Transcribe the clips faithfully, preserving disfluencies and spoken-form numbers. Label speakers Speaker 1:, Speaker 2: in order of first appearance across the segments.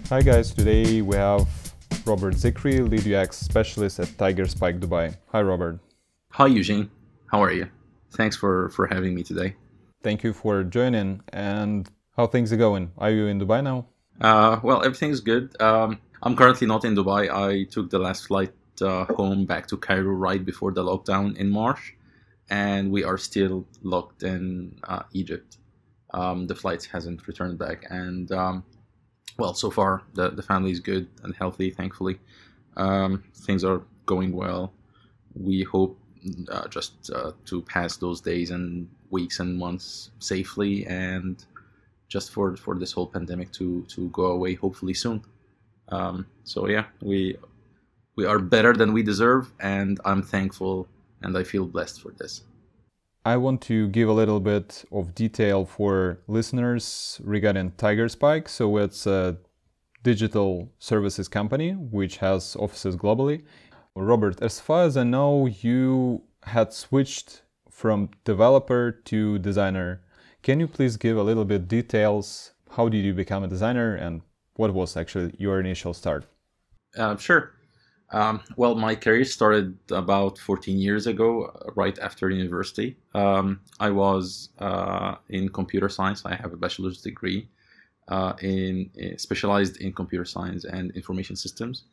Speaker 1: Hi guys, today we have Robert Zikri, lead U X specialist at Tigerspike Dubai. Hi Robert.
Speaker 2: Hi Eugene, how are you? Thanks for, for having me today.
Speaker 1: Thank you for joining. And how things are going? Are you in Dubai now?
Speaker 2: Uh, well, everything's good. Um, I'm currently not in Dubai. I took the last flight uh, home back to Cairo right before the lockdown in March, and we are still locked in uh, Egypt. Um, the flight hasn't returned back, and um, well, so far the, the family is good and healthy, thankfully. Um, things are going well. We hope uh, just uh, to pass those days and weeks and months safely, and just for, for this whole pandemic to, to go away hopefully soon. Um, so yeah, we we are better than we deserve, and I'm thankful and I feel blessed for this.
Speaker 1: I want to give a little bit of detail for listeners regarding Tigerspike. So it's a digital services company which has offices globally. Robert, as far as I know, you had switched from developer to designer. Can you please give a little bit details? How did you become a designer and what was actually your initial start?
Speaker 2: Uh, sure. Um, well, my career started about fourteen years ago, right after university. Um, I was uh, in computer science. I have a bachelor's degree uh, in, in specialized in computer science and information systems.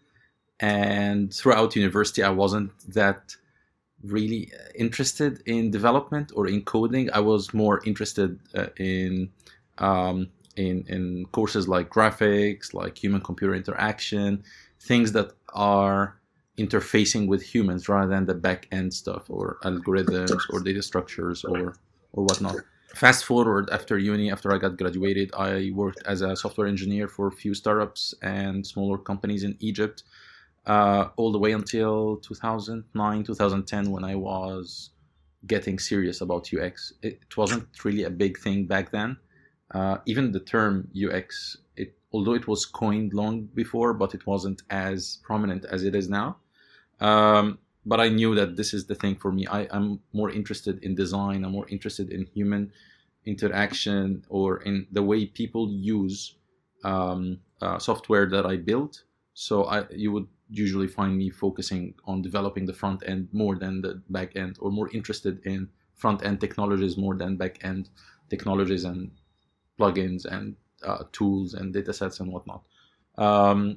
Speaker 2: And throughout university, I wasn't that really interested in development or in coding. I was more interested uh, in um, in in courses like graphics, like human-computer interaction, things that are interfacing with humans rather than the back-end stuff or algorithms or data structures or or whatnot. Fast forward after uni, after I got graduated, I worked as a software engineer for a few startups and smaller companies in Egypt, uh, all the way until two thousand nine, two thousand ten, when I was getting serious about U X. It, it wasn't really a big thing back then. Uh, even the term U X, it, although it was coined long before, but it wasn't as prominent as it is now. Um, but I knew that this is the thing for me. I, I'm more interested in design. I'm more interested in human interaction or in the way people use um, uh, software that I built. So I, you would usually find me focusing on developing the front end more than the back end, or more interested in front end technologies more than back end technologies and plugins and uh, tools and datasets and whatnot. Um,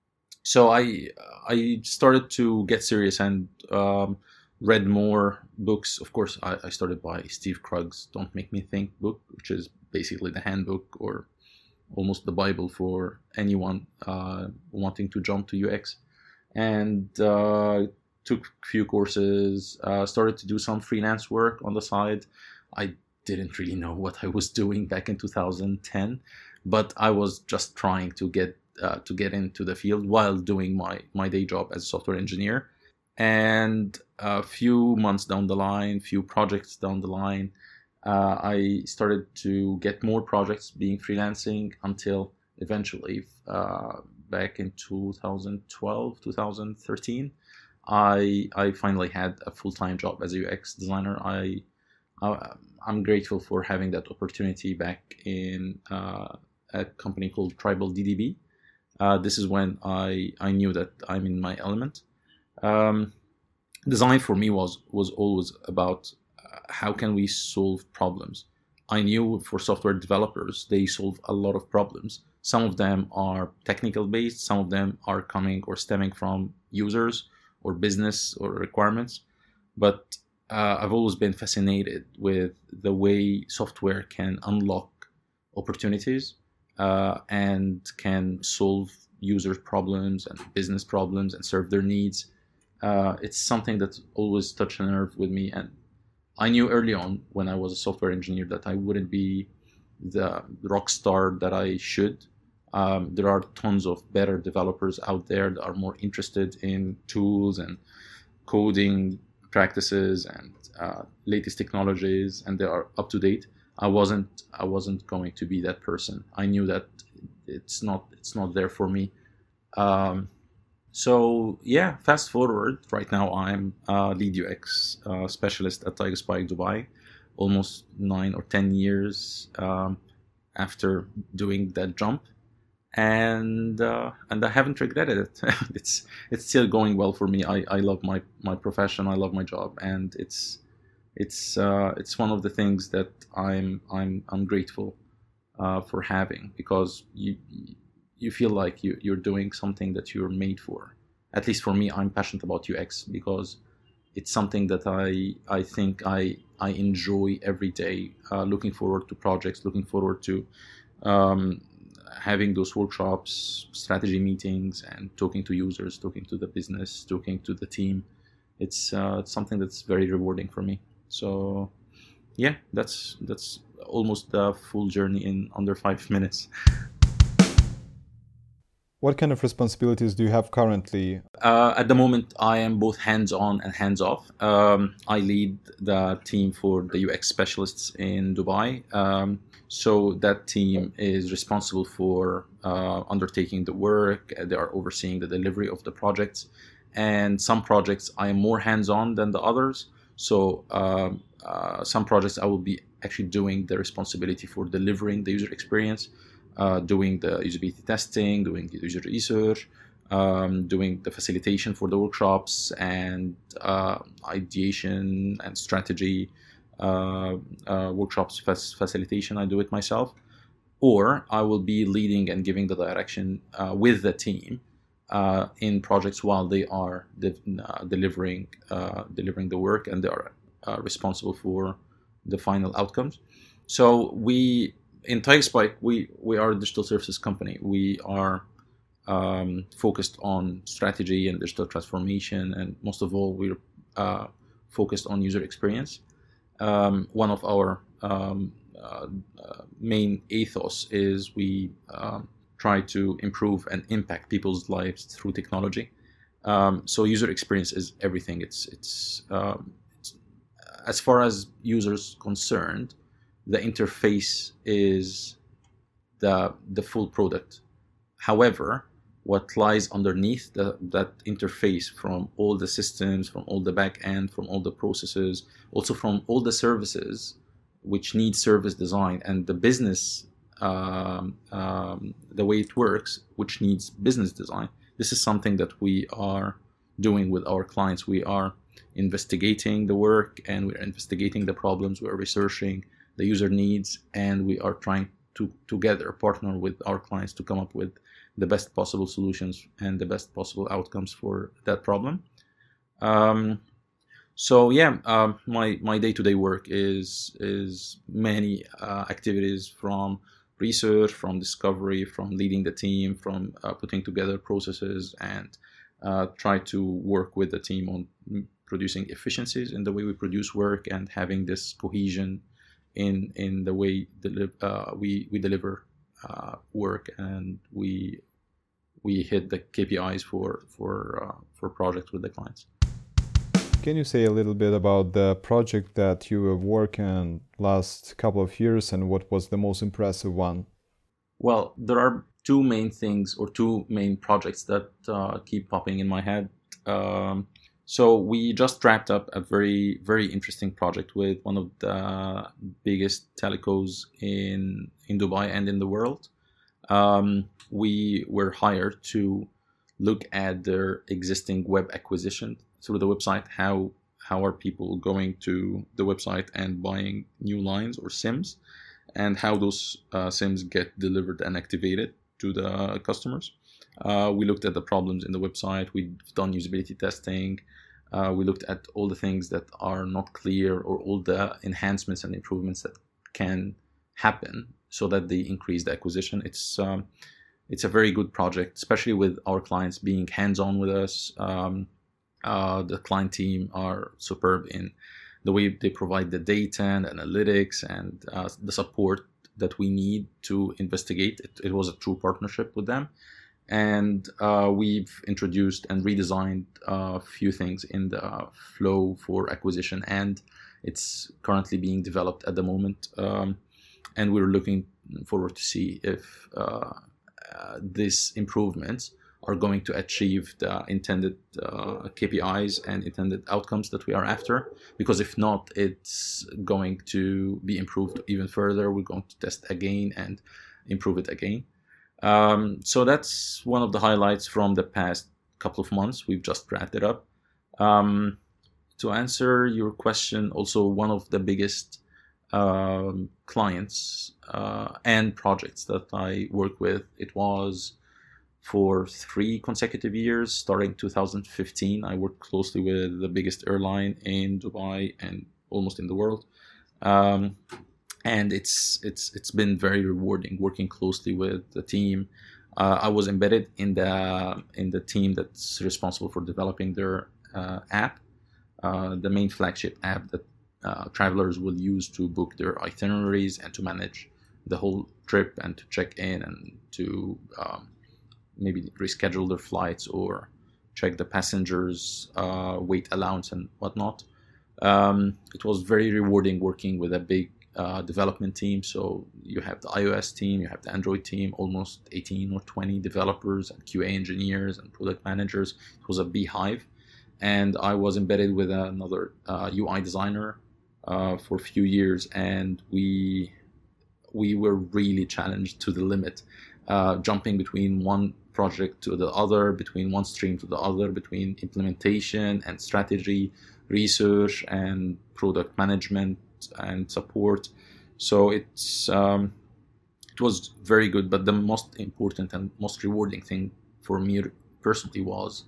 Speaker 2: so I I started to get serious and um, read more books. Of course, I, I started by Steve Krug's "Don't Make Me Think" book, which is basically the handbook or almost the Bible for anyone uh, wanting to jump to U X. And uh, took a few courses, uh, started to do some freelance work on the side. I didn't really know what I was doing back in two thousand ten, but I was just trying to get uh, to get into the field while doing my my day job as a software engineer. And a few months down the line, few projects down the line, uh, I started to get more projects being freelancing until eventually, uh, back in two thousand twelve, two thousand thirteen, I I finally had a full-time job as a U X designer. I, I I'm grateful for having that opportunity back in uh, a company called Tribal D D B. Uh, this is when I I knew that I'm in my element. Um, Design for me was was always about uh, how can we solve problems. I knew for software developers they solve a lot of problems. Some of them are technical based, some of them are coming or stemming from users or business or requirements. But uh, I've always been fascinated with the way software can unlock opportunities uh, and can solve users' problems and business problems and serve their needs. Uh, it's something that always touched a nerve with me, and I knew early on when I was a software engineer that I wouldn't be the rock star that I should. Um, there are tons of better developers out there that are more interested in tools and coding practices and uh, latest technologies, and they are up to date. I wasn't. I wasn't going to be that person. I knew that it's not. It's not there for me. Um, So yeah, fast forward. Right now, I'm a lead U X uh, specialist at Tigerspike Dubai, almost nine or ten years um, after doing that jump. and uh, and I haven't regretted it. it's it's still going well for me. I, I love my, my profession. I love my job, and it's it's uh, it's one of the things that I'm I'm I'm grateful uh, for having, because you you feel like you you're doing something that you're made for. At least for me, I'm passionate about U X because it's something that I I think I I enjoy every day. Uh, looking forward to projects, looking forward to um, having those workshops, strategy meetings, and talking to users, talking to the business, talking to the team. It's uh, it's something that's very rewarding for me. So yeah, that's that's almost the full journey in under five minutes.
Speaker 1: What kind of responsibilities do you have currently?
Speaker 2: Uh, at the moment, I am both hands-on and hands-off. Um, I lead the team for the U X specialists in Dubai. Um, so that team is responsible for uh, undertaking the work. They are overseeing the delivery of the projects. And some projects I am more hands-on than the others. So um, uh, some projects I will be actually doing the responsibility for delivering the user experience. Uh, doing the usability testing, doing the user research, um, doing the facilitation for the workshops, and uh, ideation and strategy uh, uh, workshops fac- facilitation. I do it myself. Or I will be leading and giving the direction uh, with the team uh, in projects while they are de- uh, delivering uh, delivering the work, and they are uh, responsible for the final outcomes. So we In TigerSpike, we, we are a digital services company. We are um, focused on strategy and digital transformation, and most of all, we're uh, focused on user experience. Um, one of our um, uh, uh, main ethos is we um, try to improve and impact people's lives through technology. Um, so user experience is everything. It's it's, um, it's as far as users concerned, the interface is the the full product. However, what lies underneath the, that interface, from all the systems, from all the back end, from all the processes, also from all the services which need service design, and the business, um, um, the way it works, which needs business design. This is something that we are doing with our clients. We are investigating the work, and we're investigating the problems. We're researching the user needs, and we are trying to together partner with our clients to come up with the best possible solutions and the best possible outcomes for that problem. Um, so yeah, uh, my my day-to-day work is is many uh, activities, from research, from discovery, from leading the team, from uh, putting together processes, and uh, try to work with the team on producing efficiencies in the way we produce work, and having this cohesion in in the way deli- uh, we we deliver uh, work, and we we hit the K P Is for for uh, for projects with the clients.
Speaker 1: Can you say a little bit about the project that you were working last couple of years, and what was the most impressive one?
Speaker 2: Well, there are two main things, or two main projects that uh, keep popping in my head. Um, So we just wrapped up a very, very interesting project with one of the biggest telcos in in Dubai and in the world. Um, we were hired to look at their existing web acquisition through the website. How how are people going to the website and buying new lines or SIMs, and how those uh, SIMs get delivered and activated to the customers. Uh, we looked at the problems in the website. We've done usability testing. Uh, we looked at all the things that are not clear, or all the enhancements and improvements that can happen so that they increase the acquisition. It's um, it's a very good project, especially with our clients being hands-on with us. Um, uh, the client team are superb in the way they provide the data and analytics and uh, the support that we need to investigate. It, it was a true partnership with them. And uh, we've introduced and redesigned a few things in the flow for acquisition, and it's currently being developed at the moment. Um, and we're looking forward to see if uh, uh, these improvements are going to achieve the intended uh, K P Is and intended outcomes that we are after. Because if not, it's going to be improved even further. We're going to test again and improve it again. Um, so that's one of the highlights from the past couple of months. We've just wrapped it up. Um, to answer your question, also one of the biggest um, clients uh, and projects that I work with, it was for three consecutive years, starting two thousand fifteen. I worked closely with the biggest airline in Dubai and almost in the world. Um, and it's it's it's been very rewarding working closely with the team. Uh, I was embedded in the in the team that's responsible for developing their uh, app, uh, the main flagship app that uh, travelers will use to book their itineraries and to manage the whole trip and to check in and to um, maybe reschedule their flights or check the passengers' uh, weight allowance and whatnot. Um, it was very rewarding working with a big uh, development team. So you have the iOS team, you have the Android team, almost eighteen or twenty developers and Q A engineers and product managers. It was a beehive. And I was embedded with another uh, U I designer uh, for a few years, and we we were really challenged to the limit, uh, jumping between one project to the other, between one stream to the other, between implementation and strategy, research and product management and support. So it's um, it was very good, but the most important and most rewarding thing for me personally was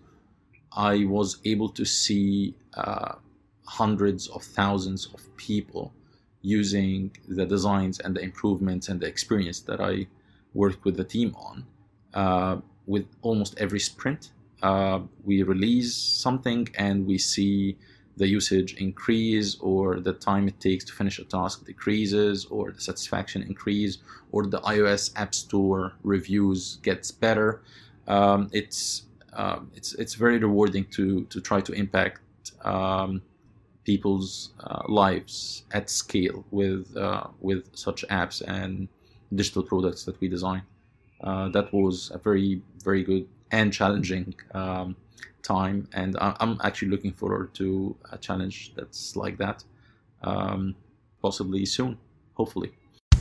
Speaker 2: I was able to see uh, hundreds of thousands of people using the designs and the improvements and the experience that I worked with the team on. Uh, with almost every sprint, uh, we release something and we see the usage increase, or the time it takes to finish a task decreases, or the satisfaction increase, or the iOS App Store reviews gets better. Um, it's uh, it's it's very rewarding to to try to impact um, people's uh, lives at scale with uh, with such apps and digital products that we design. Uh, that was a very very good and challenging um, time, and I'm actually looking forward to a challenge that's like that, um, possibly soon, hopefully.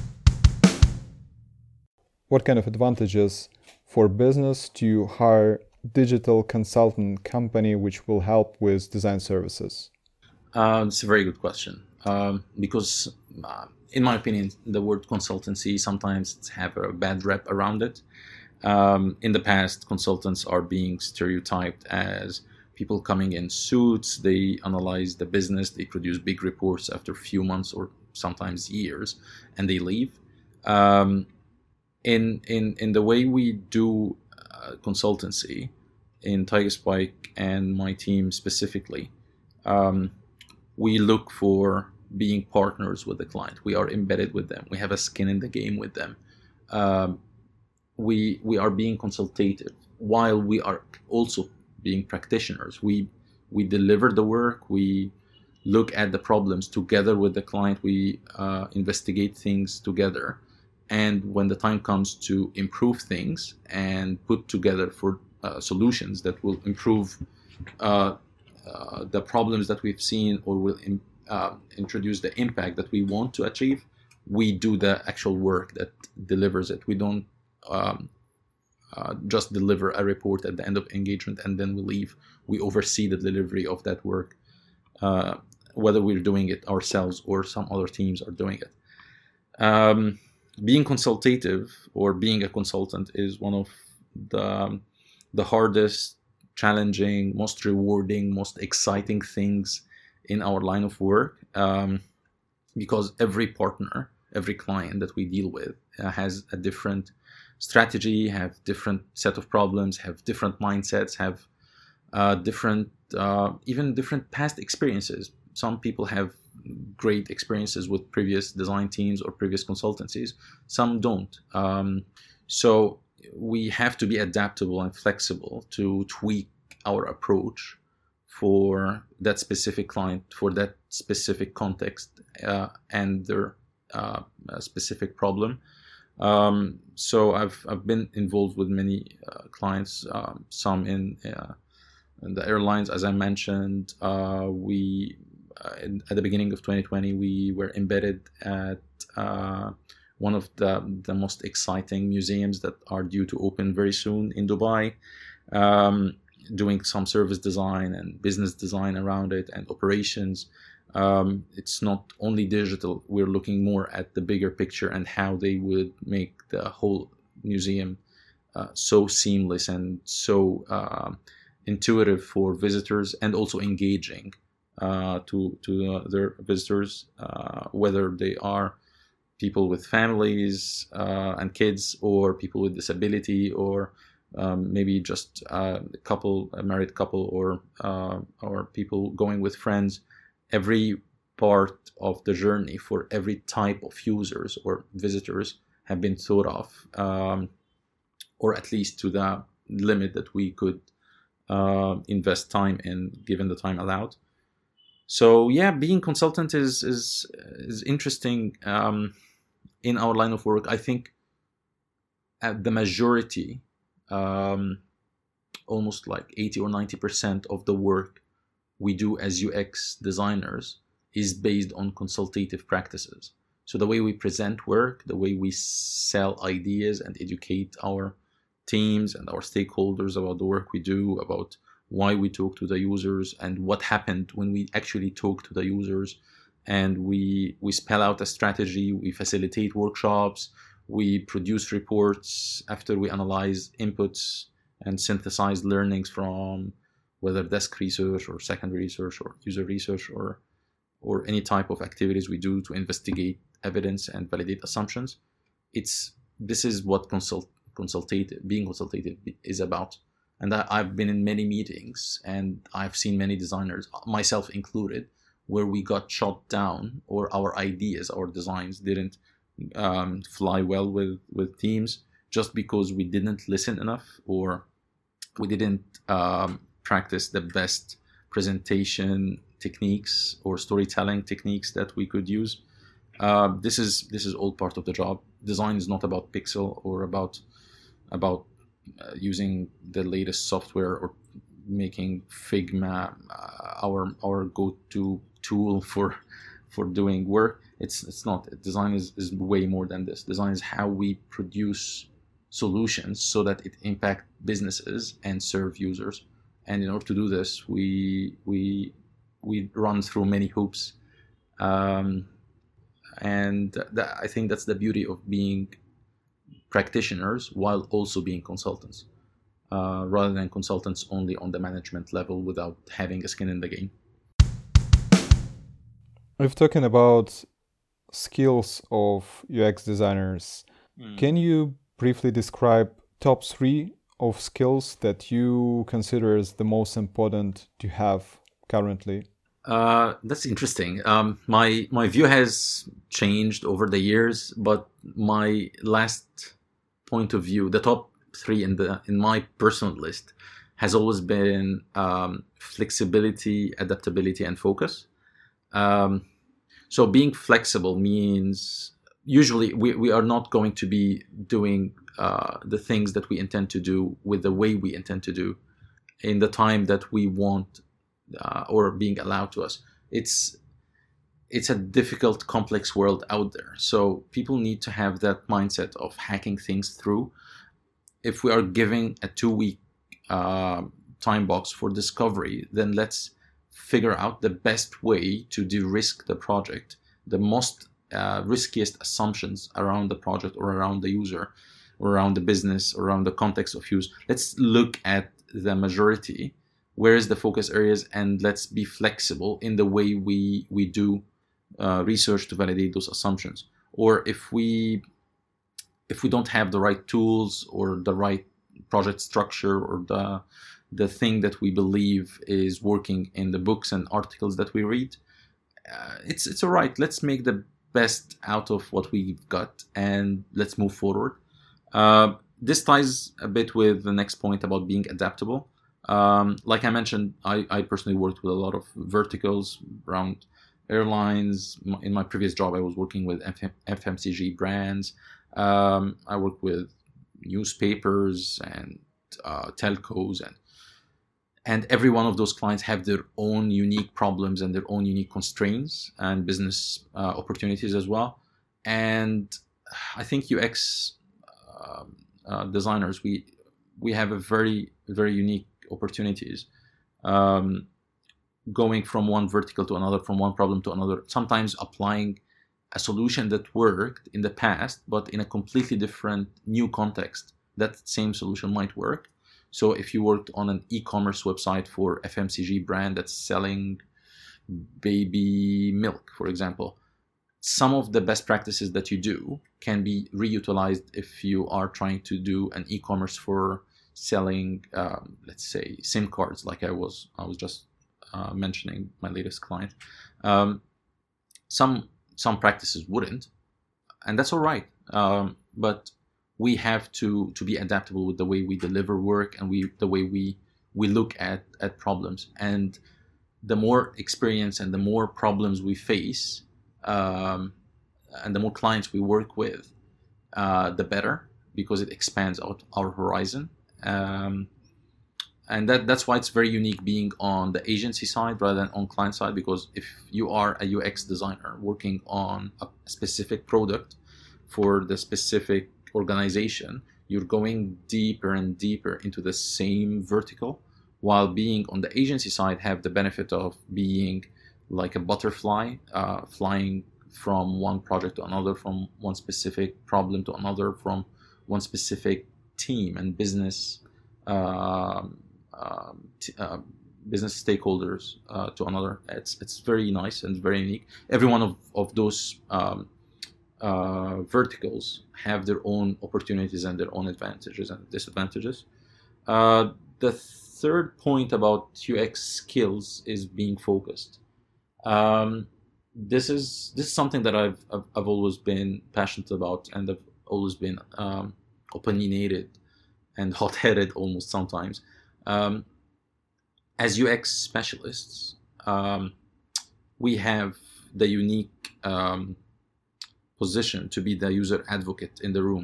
Speaker 1: What kind of advantages for business to hire digital consultant company which will help with design services?
Speaker 2: Uh, it's a very good question, um, because uh, in my opinion, the word consultancy sometimes have a bad rep around it. Um, in the past, consultants are being stereotyped as people coming in suits. They analyze the business, they produce big reports after a few months or sometimes years, and they leave. Um, in in in the way we do uh, consultancy in TigerSpike and my team specifically, um, we look for being partners with the client. We are embedded with them. We have a skin in the game with them. Um, we we are being consultative while we are also being practitioners. We we deliver the work. We look at the problems together with the client. We uh, investigate things together. And when the time comes to improve things and put together for uh, solutions that will improve uh, uh, the problems that we've seen, or will in, uh, introduce the impact that we want to achieve, we do the actual work that delivers it. We don't um, uh, just deliver a report at the end of engagement and then we leave. We oversee the delivery of that work, uh, whether we're doing it ourselves or some other teams are doing it. Um, being consultative or being a consultant is one of the, the hardest, challenging, most rewarding, most exciting things in our line of work, um, because every partner, every client that we deal with uh, has a different strategy, have different set of problems, have different mindsets, have uh, different, uh, even different past experiences. Some people have great experiences with previous design teams or previous consultancies. Some don't. Um, so we have to be adaptable and flexible to tweak our approach for that specific client, for that specific context, uh, and their uh, specific problem. Um, so I've I've been involved with many uh, clients, um, some in, uh, in the airlines, as I mentioned. Uh, we uh, in, at the beginning of twenty twenty, we were embedded at uh, one of the, the most exciting museums that are due to open very soon in Dubai, um, doing some service design and business design around it and operations. Um, it's not only digital, we're looking more at the bigger picture and how they would make the whole museum uh, so seamless and so uh, intuitive for visitors, and also engaging uh, to, to uh, their visitors, uh, whether they are people with families uh, and kids, or people with disability, or um, maybe just uh, a couple, a married couple, or uh, or people going with friends. Every part of the journey for every type of users or visitors have been thought of, um, or at least to the limit that we could uh, invest time in, given the time allowed. So yeah, being consultant is is is interesting. Um, in our line of work, I think at the majority, um, almost like eighty or ninety percent of the work we do as U X designers is based on consultative practices. So the way we present work, the way we sell ideas and educate our teams and our stakeholders about the work we do, about why we talk to the users and what happened when we actually talk to the users. And we we spell out a strategy, we facilitate workshops, we produce reports after we analyze inputs and synthesize learnings from whether desk research or secondary research or user research or or any type of activities we do to investigate evidence and validate assumptions. It's this is what consult consultative being consultative is about. And I, I've been in many meetings and I've seen many designers, myself included, where we got shot down, or our ideas, our designs didn't um, fly well with, with teams, just because we didn't listen enough, or we didn't um, practice the best presentation techniques or storytelling techniques that we could use. Uh, this is this is all part of the job. Design is not about pixel or about about uh, using the latest software or making Figma uh, our our go-to tool for for doing work. It's it's not. Design is, is way more than this. Design is how we produce solutions so that it impact businesses and serve users. And in order to do this, we we we run through many hoops. Um, and that, I think that's the beauty of being practitioners while also being consultants, uh, rather than consultants only on the management level without having a skin in the game.
Speaker 1: We've talking about skills of U X designers. Mm. Can you briefly describe top three of skills that you consider as the most important to have currently?
Speaker 2: Uh, that's interesting. Um, my my view has changed over the years, but my last point of view, the top three in the in my personal list, has always been um, flexibility, adaptability, and focus. Um, so being flexible means usually we, we are not going to be doing uh, the things that we intend to do with the way we intend to do in the time that we want uh, or being allowed to us. It's it's a difficult, complex world out there. So people need to have that mindset of hacking things through. If we are giving a two-week uh, time box for discovery, then let's figure out the best way to de-risk the project, the most uh, riskiest assumptions around the project or around the user or around the business or around the context of use. Let's look at the majority, where is the focus areas, and let's be flexible in the way we, we do uh, research to validate those assumptions. Or if we if we don't have the right tools or the right project structure or the the thing that we believe is working in the books and articles that we read, uh, it's it's all right. Let's make the best out of what we've got and let's move forward. Uh, this ties a bit with the next point about being adaptable. Um, like I mentioned, I, I personally worked with a lot of verticals around airlines. In my previous job, I was working with F M C G brands. Um, I worked with newspapers and uh, telcos, and and every one of those clients have their own unique problems and their own unique constraints and business uh, opportunities as well. And I think U X uh, uh, designers, we we have a very very unique opportunities, um, going from one vertical to another, from one problem to another. Sometimes applying a solution that worked in the past, but in a completely different new context, that same solution might work. So if you worked on an e-commerce website for F M C G brand that's selling baby milk, for example, some of the best practices that you do can be reutilized if you are trying to do an e-commerce for selling, um, let's say, SIM cards, like I was I was just uh, mentioning my latest client. Um, some some practices wouldn't, and that's all right. Um, but we have to to be adaptable with the way we deliver work and we the way we we look at at problems. And the more experience and the more problems we face, um, and the more clients we work with, uh, the better, because it expands out our horizon. Um, and that that's why it's very unique being on the agency side rather than on client side, because if you are a U X designer working on a specific product for the specific organization, you're going deeper and deeper into the same vertical, while being on the agency side have the benefit of being like a butterfly, uh, flying from one project to another, from one specific problem to another, from one specific team and business uh, uh, t- uh, business stakeholders uh, to another. It's it's very nice and very unique. Every one of, of those um, uh, verticals have their own opportunities and their own advantages and disadvantages. Uh, the third point about U X skills is being focused. Um, this is this is something that I've I've, I've always been passionate about, and I've always been um, opinionated and hot-headed almost sometimes. Um, as U X specialists, um, we have the unique um, position to be the user advocate in the room.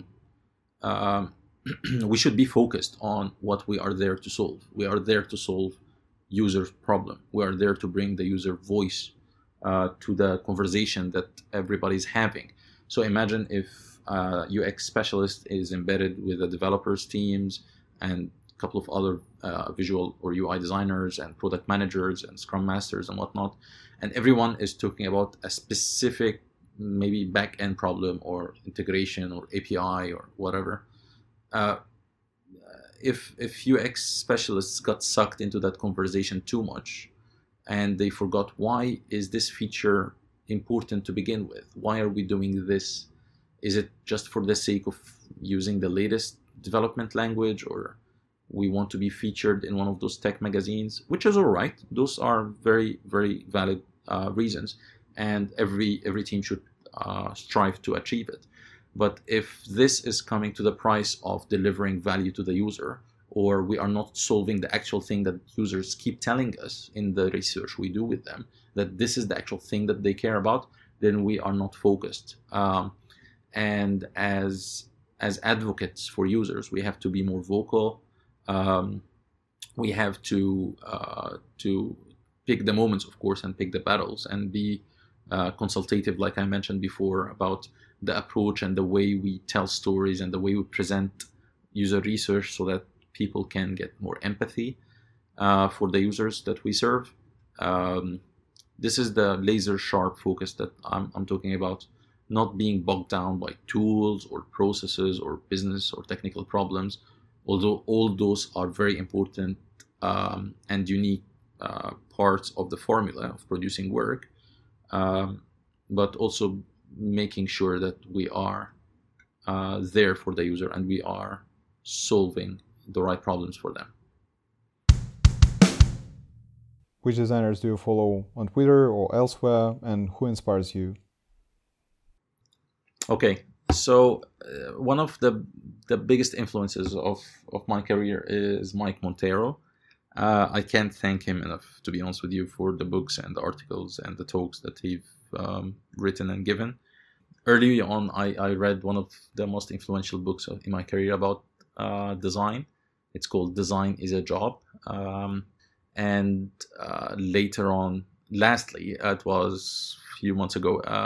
Speaker 2: Um, we should be focused on what we are there to solve. We are there to solve user problem. We are there to bring the user voice uh, to the conversation that everybody's having. So imagine if uh, U X specialist is embedded with the developers teams and a couple of other uh, visual or U I designers and product managers and scrum masters and whatnot, and everyone is talking about a specific maybe back-end problem or integration or A P I or whatever. Uh, if if U X specialists got sucked into that conversation too much and they forgot, why is this feature important to begin with? Why are we doing this? Is it just for the sake of using the latest development language, or we want to be featured in one of those tech magazines, which is all right. Those are very, very valid uh, reasons, and every every team should uh, strive to achieve it. But if this is coming to the price of delivering value to the user, or we are not solving the actual thing that users keep telling us in the research we do with them, that this is the actual thing that they care about, then we are not focused. Um, and as as advocates for users, we have to be more vocal. Um, we have to uh, to pick the moments, of course, and pick the battles, and be uh, consultative, like I mentioned before, about the approach and the way we tell stories and the way we present user research, so that people can get more empathy uh, for the users that we serve. Um, this is the laser sharp focus that I'm, I'm talking about, not being bogged down by tools or processes or business or technical problems, although all those are very important um, and unique uh, parts of the formula of producing work, um, but also making sure that we are uh, there for the user and we are solving the right problems for them.
Speaker 1: Which designers do you follow on Twitter or elsewhere, and who inspires you?
Speaker 2: Okay, so uh, one of the the biggest influences of, of my career is Mike Monteiro. Uh, I can't thank him enough, to be honest with you, for the books and the articles and the talks that he's um, written and given. Early on, I, I read one of the most influential books in my career about uh, design. It's called Design is a Job. Um, and uh, later on, lastly, it was a few months ago, uh,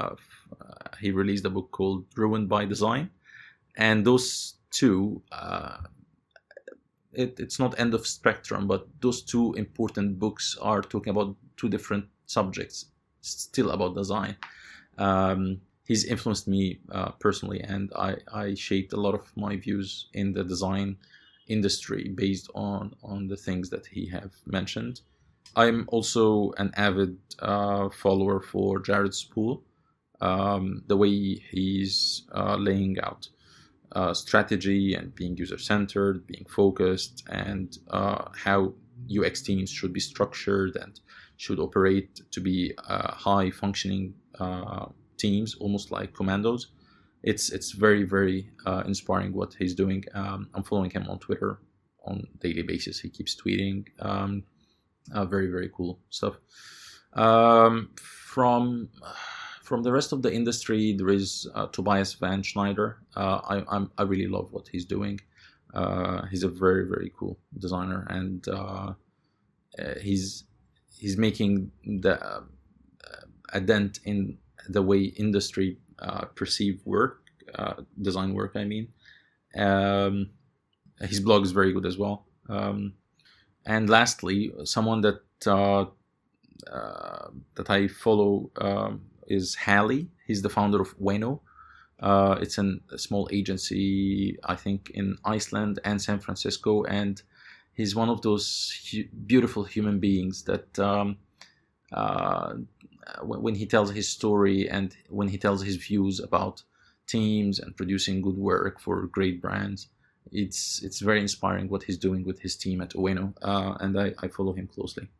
Speaker 2: uh, he released a book called Ruined by Design. And those two, uh, it, it's not end of spectrum, but those two important books are talking about two different subjects, still about design. Um, he's influenced me uh, personally, and I, I shaped a lot of my views in the design industry based on, on the things that he have mentioned. I'm also an avid uh, follower for Jared Spool, um, the way he's uh, laying out uh, strategy and being user-centered, being focused, and uh, how U X teams should be structured and should operate to be uh, high-functioning uh, teams, almost like commandos. It's it's very, very uh, inspiring what he's doing. Um, I'm following him on Twitter on a daily basis. He keeps tweeting. Um, uh, very, very cool stuff. Um, from from the rest of the industry, there is uh, Tobias Van Schneider. Uh, I I'm, I really love what he's doing. Uh, he's a very, very cool designer, and uh, uh, he's he's making the uh, a dent in the way industry uh, perceive work, uh, design work. I mean, um, his blog is very good as well. Um, and lastly, someone that uh, uh, that I follow um, is Hallie. He's the founder of Weno. Uh, it's an, a small agency, I think, in Iceland and San Francisco, and he's one of those hu- beautiful human beings that um, uh, when he tells his story and when he tells his views about teams and producing good work for great brands, it's it's very inspiring what he's doing with his team at Ueno, uh, and I, I follow him closely.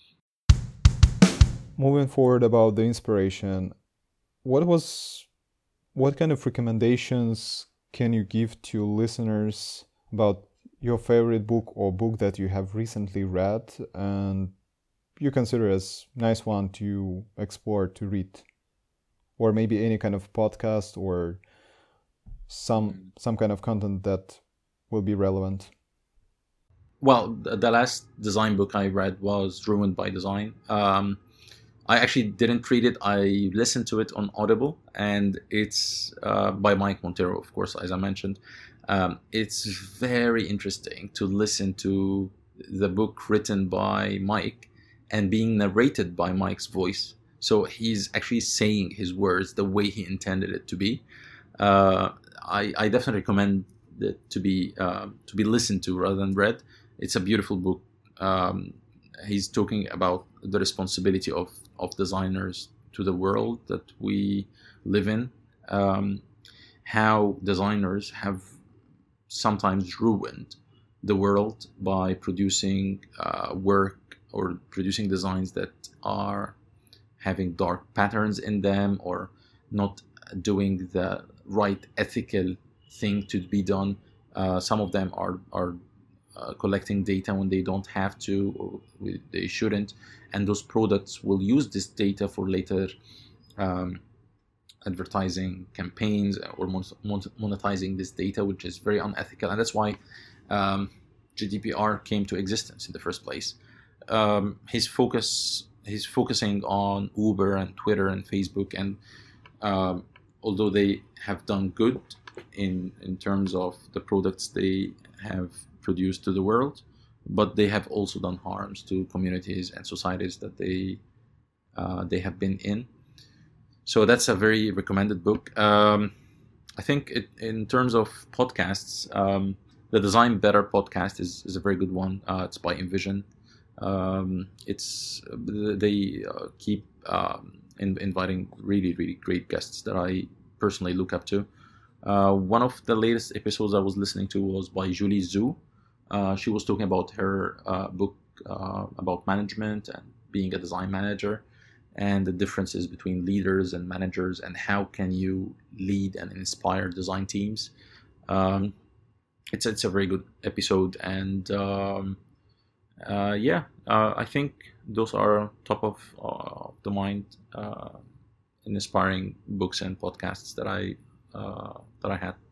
Speaker 1: Moving forward about the inspiration, what was what kind of recommendations can you give to listeners about your favorite book or book that you have recently read and you consider as nice one to explore, to read, or maybe any kind of podcast or some some kind of content that will be relevant?
Speaker 2: Well, the last design book I read was Ruined by Design. Um, I actually didn't read it. I listened to it on Audible, and it's uh, by Mike Monteiro, of course, as I mentioned. Um, it's very interesting to listen to the book written by Mike and being narrated by Mike's voice. So he's actually saying his words the way he intended it to be. Uh, I, I definitely recommend it to be uh, to be listened to rather than read. It's a beautiful book. Um, he's talking about the responsibility of, of designers to the world that we live in, um, how designers have sometimes ruined the world by producing uh, work or producing designs that are having dark patterns in them or not doing the right ethical thing to be done. Uh, some of them are, are uh, collecting data when they don't have to or they shouldn't, and those products will use this data for later um, advertising campaigns or monetizing this data, which is very unethical, and that's why um, G D P R came to existence in the first place. Um, his focus, he's focusing on Uber and Twitter and Facebook, and um, although they have done good in in terms of the products they have produced to the world, but they have also done harms to communities and societies that they uh, they have been in. So that's a very recommended book. Um, I think it, in terms of podcasts, um, the Design Better podcast is, is a very good one. Uh, it's by Envision. Um, it's they uh, keep um, in, inviting really really great guests that I personally look up to. Uh, one of the latest episodes I was listening to was by Julie Zhu. Uh, she was talking about her uh, book uh, about management and being a design manager, and the differences between leaders and managers, and how can you lead and inspire design teams. Um, it's it's a very good episode, and um, uh, yeah, uh, I think those are top of uh, the mind uh, inspiring books and podcasts that I uh, that I had.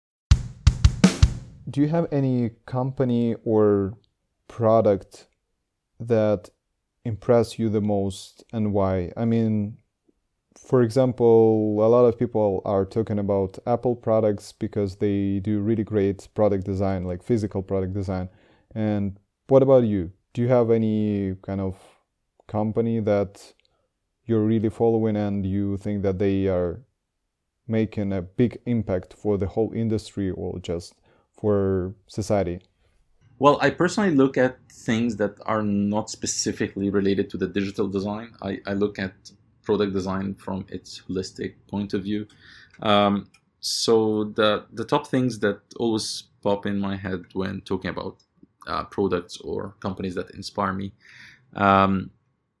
Speaker 1: Do you have any company or product that impress you the most, and why? I mean, for example, a lot of people are talking about Apple products because they do really great product design, like physical product design. And what about you? Do you have any kind of company that you're really following and you think that they are making a big impact for the whole industry or just for society?
Speaker 2: Well, I personally look at things that are not specifically related to the digital design. I, I look at product design from its holistic point of view. Um, so the the top things that always pop in my head when talking about uh, products or companies that inspire me, um,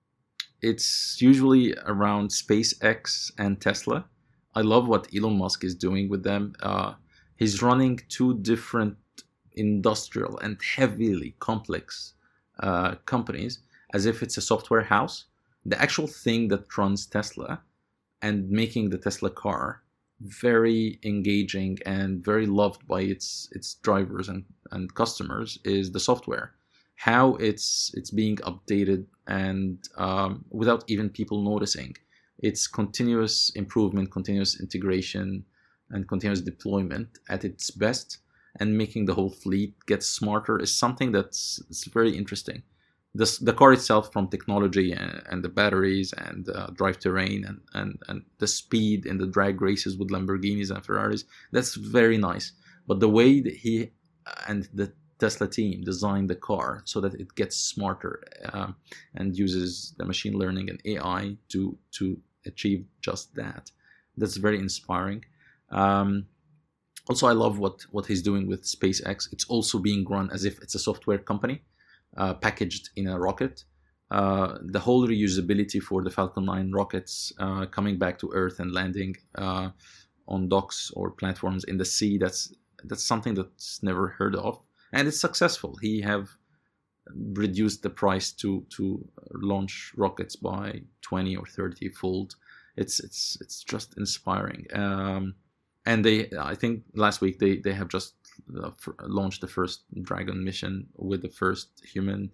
Speaker 2: it's usually around SpaceX and Tesla. I love what Elon Musk is doing with them. Uh, he's running two different industrial and heavily complex uh, companies as if it's a software house. The actual thing that runs Tesla and making the Tesla car very engaging and very loved by its its drivers and, and customers is the software. How it's it's being updated and um, without even people noticing. It's continuous improvement, continuous integration, and continuous deployment at its best, and making the whole fleet get smarter is something that's it's very interesting. This, the car itself, from technology and, and the batteries and uh, drive terrain and, and, and the speed in the drag races with Lamborghinis and Ferraris, that's very nice. But the way that he and the Tesla team designed the car so that it gets smarter um, and uses the machine learning and A I to to achieve just that, that's very inspiring. Um, also, I love what, what he's doing with SpaceX. It's also being run as if it's a software company. Uh, packaged in a rocket. Uh, the whole reusability for the Falcon nine rockets uh, coming back to Earth and landing uh, on docks or platforms in the sea, that's that's something that's never heard of. And it's successful. He have reduced the price to, to launch rockets by twenty or thirty fold. It's it's it's just inspiring. Um, and they, I think last week they, they have just Uh, launched the first Dragon mission with the first human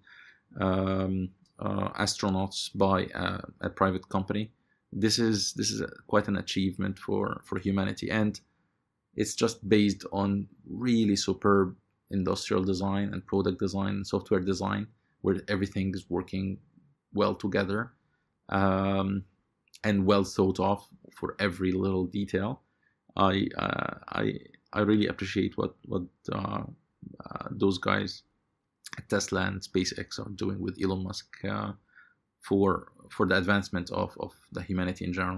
Speaker 2: um, uh, astronauts by uh, a private company. This is this is a, quite an achievement for, for humanity, and it's just based on really superb industrial design and product design and software design, where everything is working well together um, and well thought of for every little detail. I uh, I. I really appreciate what what uh, uh, those guys at Tesla and SpaceX are doing with Elon Musk uh, for for the advancement of, of the humanity in general.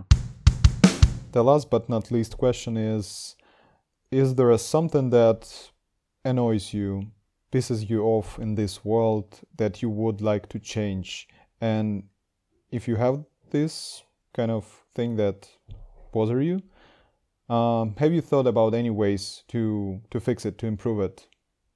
Speaker 1: The last but not least question is, is there a something that annoys you, pisses you off in this world that you would like to change? And if you have this kind of thing that bother you, Um, have you thought about any ways to to fix it, to improve it?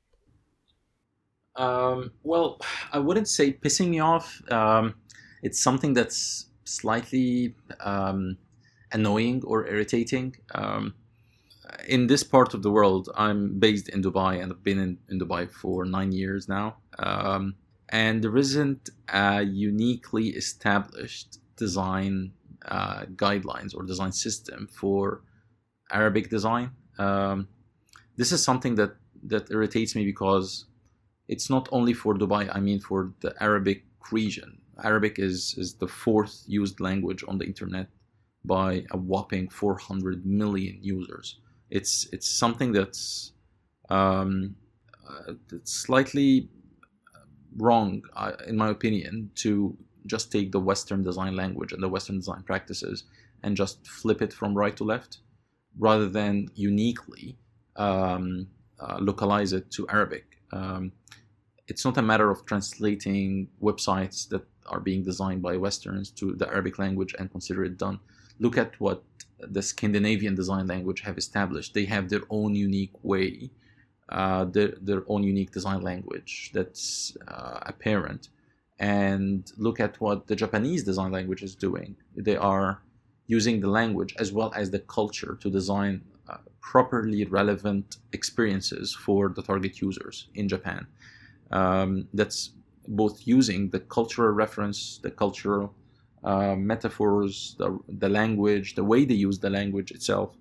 Speaker 2: Um, well, I wouldn't say pissing me off. Um, it's something that's slightly um, annoying or irritating. Um, in this part of the world, I'm based in Dubai and I've been in, in Dubai for nine years now. Um, and there isn't a uniquely established design uh, guidelines or design system for Arabic design. Um, this is something that, that irritates me because it's not only for Dubai, I mean for the Arabic region. Arabic is, is the fourth used language on the internet by a whopping four hundred million users. It's it's something that's um, uh, that's slightly wrong, uh, in my opinion, to just take the Western design language and the Western design practices and just flip it from right to left, rather than uniquely um, uh, localize it to Arabic. Um, it's not a matter of translating websites that are being designed by Westerns to the Arabic language and consider it done. Look at what the Scandinavian design language have established. They have their own unique way, uh, their, their own unique design language that's uh, apparent. And look at what the Japanese design language is doing. They are using the language as well as the culture to design uh, properly relevant experiences for the target users in Japan. Um, that's both using the cultural reference, the cultural uh, metaphors, the, the language, the way they use the language itself.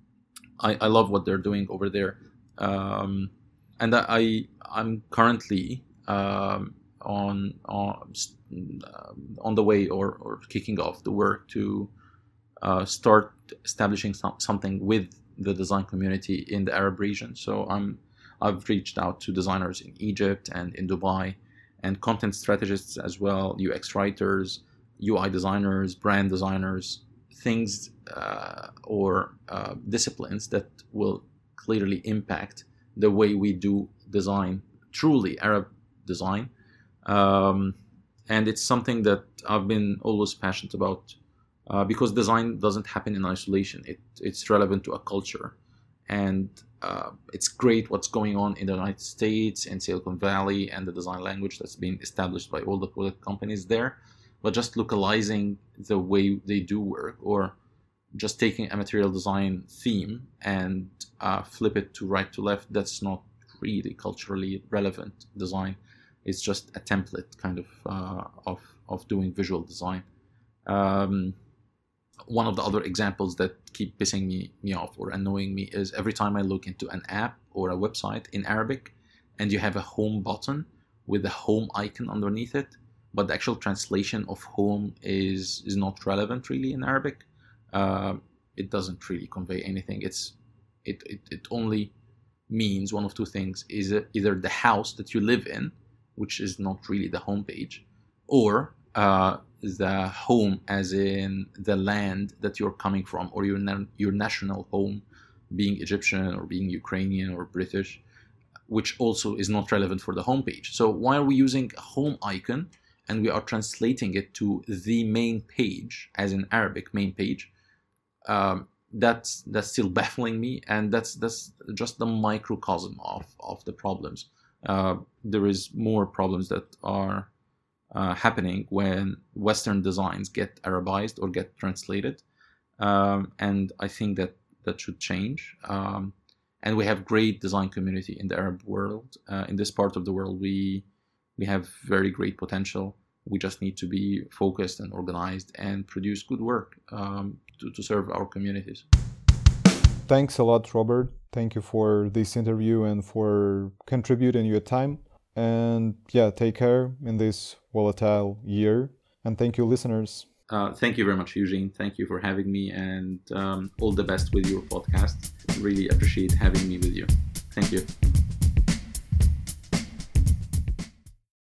Speaker 2: I, I love what they're doing over there. Um, and I, I'm currently um, on, on, on the way or, or kicking off the work to uh, start establishing some, something with the design community in the Arab region. So I'm, I've reached out to designers in Egypt and in Dubai, and content strategists as well, U X writers, U I designers, brand designers, things uh, or uh, disciplines that will clearly impact the way we do design, truly Arab design. Um, and it's something that I've been always passionate about uh, because design doesn't happen in isolation. It, it's relevant to a culture. And uh, it's great what's going on in the United States and Silicon Valley and the design language that's been established by all the companies there. But just localizing the way they do work, or just taking a material design theme and uh, flip it to right to left, that's not really culturally relevant design. It's just a template kind of uh, of, of doing visual design. Um, one of the other examples that keep pissing me, me off or annoying me is every time I look into an app or a website in Arabic and you have a home button with the home icon underneath it, but the actual translation of home is is not relevant really in Arabic. Uh, it doesn't really convey anything. It's it, it it only means one of two things: is either the house that you live in, which is not really the home page, or uh, the home as in the land that you're coming from, or your na- your national home, being Egyptian or being Ukrainian or British, which also is not relevant for the home page. So why are we using a home icon and we are translating it to the main page, as in Arabic main page? Um, that's that's still baffling me, and that's that's just the microcosm of of the problems. Uh, there is more problems that are uh, happening when Western designs get Arabized or get translated, um, and I think that that should change. Um, and we have great design community in the Arab world. Uh, in this part of the world, we we have very great potential. We just need to be focused and organized and produce good work um, to, to serve our communities.
Speaker 1: Thanks a lot, Robert. Thank you for this interview and for contributing your time. And yeah, take care in this volatile year. And thank you, listeners.
Speaker 2: Uh, thank you very much, Eugene. Thank you for having me, and um, all the best with your podcast. Really appreciate having me with you. Thank you.